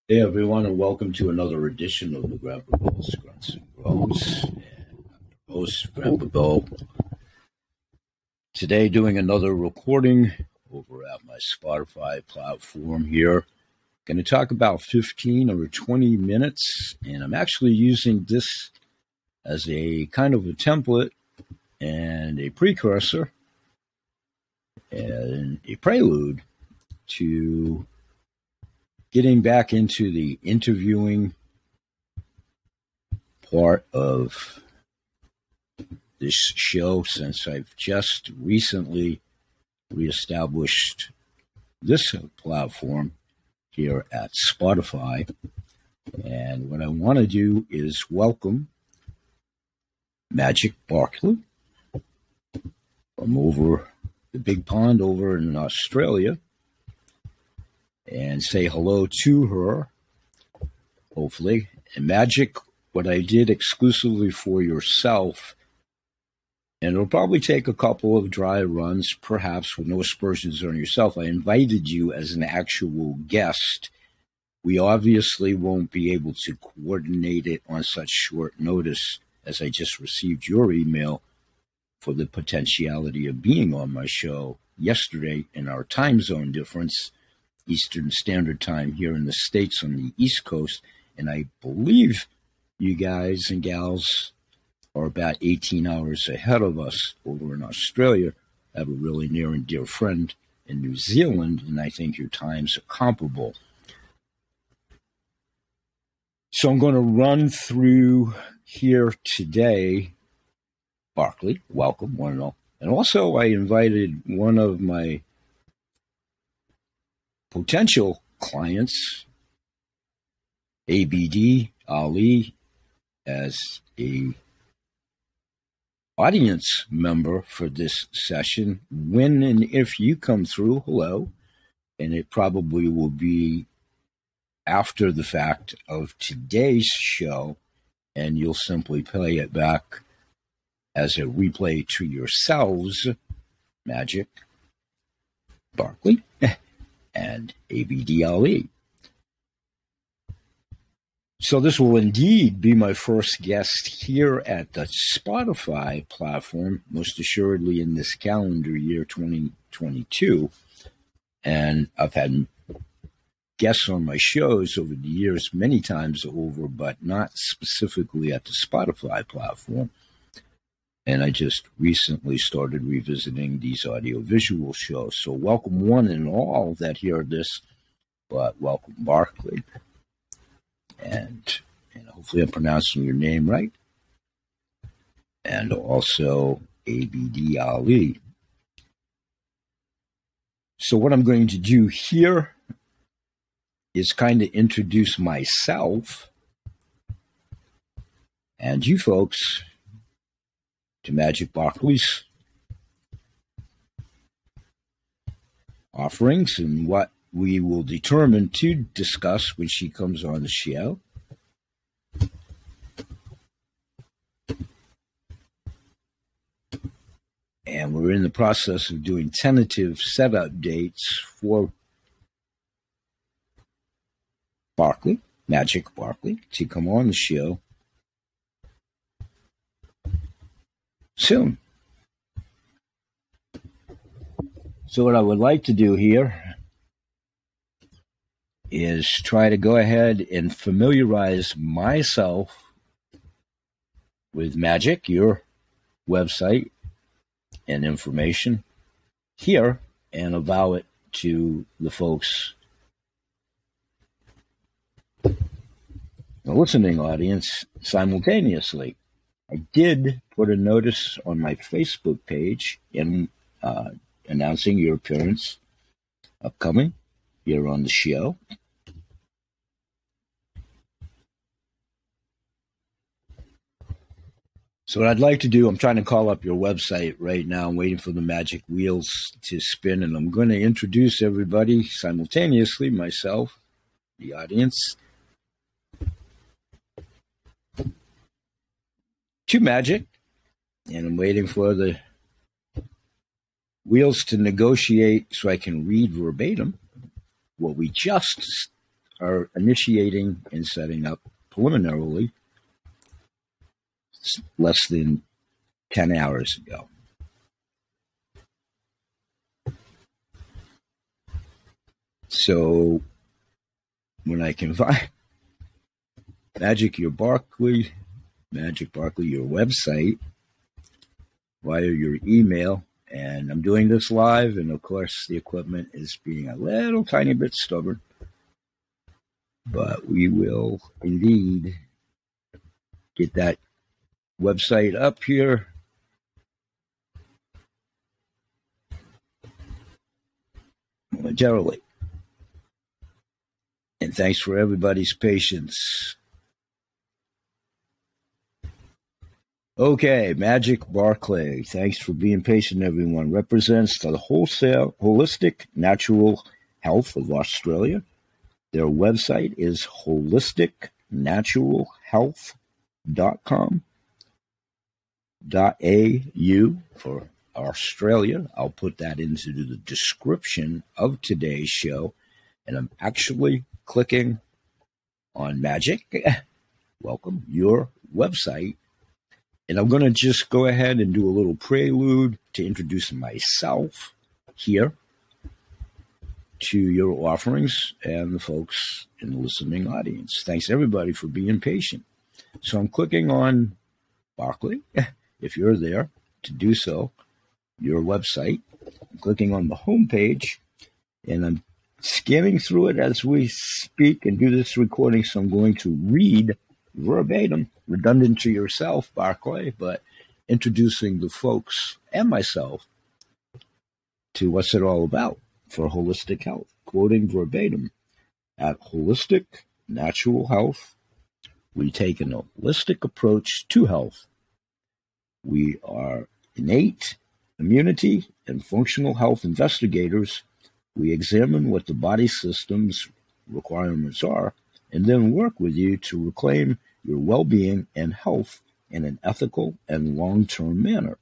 Hey everyone, and welcome to another edition of the Grandpa Bill's Grunts and Grows. Host Grandpa Bill. Today, doing another recording over at my Spotify platform here. Going to talk about 15 or 20 minutes, and I'm actually using this as a kind of a template and a precursor and a prelude to getting back into the interviewing part of this show, since I've just recently reestablished this platform here at Spotify. And what I want to do is welcome Magic Barkley from over the big pond over in Australia, and say hello to her, hopefully. And Magic, what I did exclusively for yourself, and it'll probably take a couple of dry runs, perhaps with no aspersions on yourself. I invited you as an actual guest. We obviously won't be able to coordinate it on such short notice, as I just received your email for the potentiality of being on my show yesterday in our time zone difference, Eastern Standard Time here in the States on the East Coast. And I believe you guys and gals are about 18 hours ahead of us over in Australia. I have a really near and dear friend in New Zealand, and I think your times are comparable. So I'm going to run through here today. Barkley, welcome, one and all. And also I invited one of my potential clients, ABD Ali, as a audience member for this session. When and if you come through, hello. And it probably will be after the fact of today's show, and you'll simply play it back as a replay to yourselves, Magic Barkley and ABD Ali. So this will indeed be my first guest here at the Spotify platform, most assuredly in this calendar year 2022. And I've had guests on my shows over the years many times over, but not specifically at the Spotify platform. And I just recently started revisiting these audio-visual shows. So welcome one and all that hear this, but welcome Barkley. And hopefully I'm pronouncing your name right. And also ABD Ali. So what I'm going to do here is kind of introduce myself and you folks to Magic Barkley's offerings and what we will determine to discuss when she comes on the show. And we're in the process of doing tentative setup dates for Barkley, Magic Barkley, to come on the show soon. So what I would like to do here is try to go ahead and familiarize myself with Magic, your website and information here, and avow it to the folks, the listening audience, simultaneously. I did put a notice on my Facebook page in announcing your appearance upcoming here on the show. So what I'd like to do, I'm trying to call up your website right now. I'm waiting for the magic wheels to spin, and I'm going to introduce everybody simultaneously, myself, the audience, to Magic. And I'm waiting for the wheels to negotiate so I can read verbatim what we just are initiating and setting up preliminarily less than 10 hours ago. So when I combine Magic Barkley, your website, via your email, and I'm doing this live, and of course the equipment is being a little tiny bit stubborn, but we will indeed get that website up here. Momentarily. And thanks for everybody's patience. Okay, Magic Barkley, thanks for being patient, everyone. Represents the Holistic Natural Health of Australia. Their website is holisticnaturalhealth.com.au for Australia. I'll put that into the description of today's show. And I'm actually clicking on Magic. Welcome, your website. And I'm going to just go ahead and do a little prelude to introduce myself here to your offerings and the folks in the listening audience. Thanks, everybody, for being patient. So I'm clicking on Barkley, if you're there, to do so, your website. I'm clicking on the home page, and I'm scanning through it as we speak and do this recording, so I'm going to read verbatim, redundant to yourself, Barkley, but introducing the folks and myself to what's it all about for holistic health. Quoting verbatim, at Holistic Natural Health, we take an holistic approach to health. We are innate immunity and functional health investigators. We examine what the body system's requirements are and then work with you to reclaim your well-being and health in an ethical and long-term manner.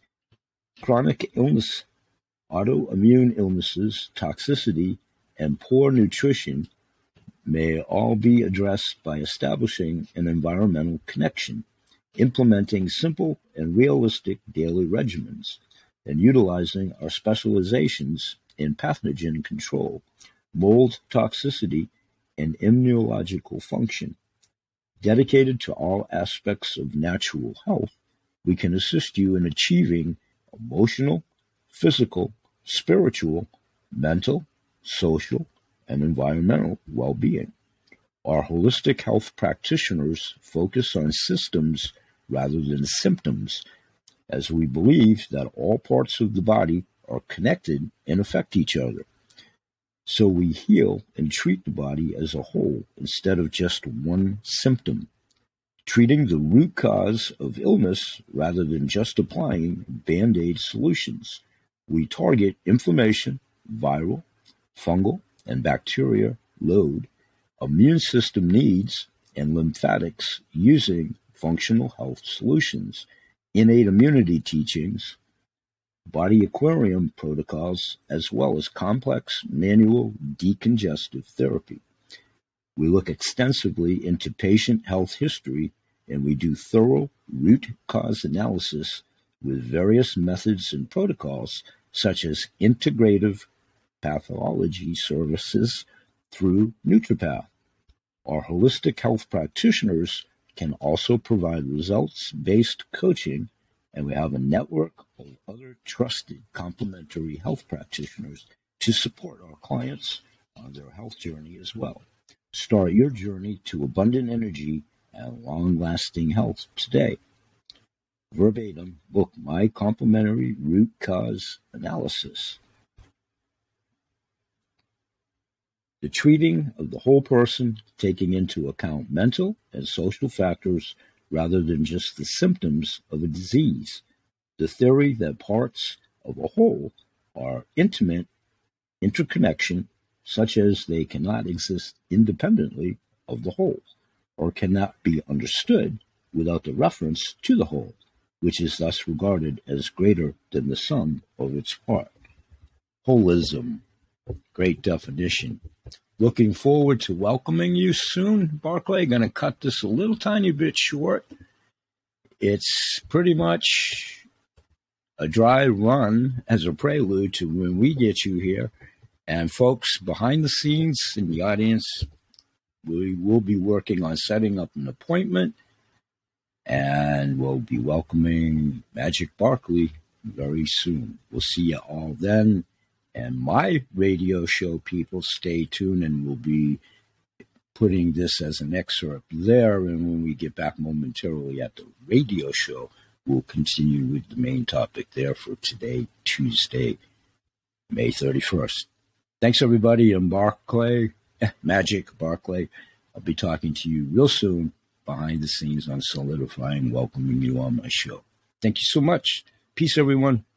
Chronic illness, autoimmune illnesses, toxicity, and poor nutrition may all be addressed by establishing an environmental connection, implementing simple and realistic daily regimens, and utilizing our specializations in pathogen control, mold toxicity, and immunological function. Dedicated to all aspects of natural health, we can assist you in achieving emotional, physical, spiritual, mental, social, and environmental well-being. Our holistic health practitioners focus on systems rather than symptoms, as we believe that all parts of the body are connected and affect each other. So we heal and treat the body as a whole instead of just one symptom, treating the root cause of illness rather than just applying Band-Aid solutions. We target inflammation, viral, fungal, and bacteria load, immune system needs, and lymphatics using functional health solutions, innate immunity teachings, body aquarium protocols, as well as complex manual decongestive therapy. We look extensively into patient health history, and we do thorough root cause analysis with various methods and protocols, such as integrative pathology services through NutriPath. Our holistic health practitioners can also provide results-based coaching, and we have a network of other trusted complementary health practitioners to support our clients on their health journey as well. Start your journey to abundant energy and long-lasting health today. Verbatim, book my complimentary root cause analysis. The treating of the whole person, taking into account mental and social factors rather than just the symptoms of a disease. The theory that parts of a whole are intimate interconnection, such as they cannot exist independently of the whole, or cannot be understood without the reference to the whole, which is thus regarded as greater than the sum of its part. Holism. Great definition. Looking forward to welcoming you soon, Barclay. Going to cut this a little tiny bit short. It's pretty much a dry run as a prelude to when we get you here. And folks, behind the scenes in the audience, we will be working on setting up an appointment, and we'll be welcoming Magic Barkley very soon. We'll see you all then. And my radio show people, stay tuned, and we'll be putting this as an excerpt there. And when we get back momentarily at the radio show, we'll continue with the main topic there for today, Tuesday, May 31st. Thanks, everybody. I'm Barclay, Magic Barclay. I'll be talking to you real soon behind the scenes on Solidifying, welcoming you on my show. Thank you so much. Peace, everyone.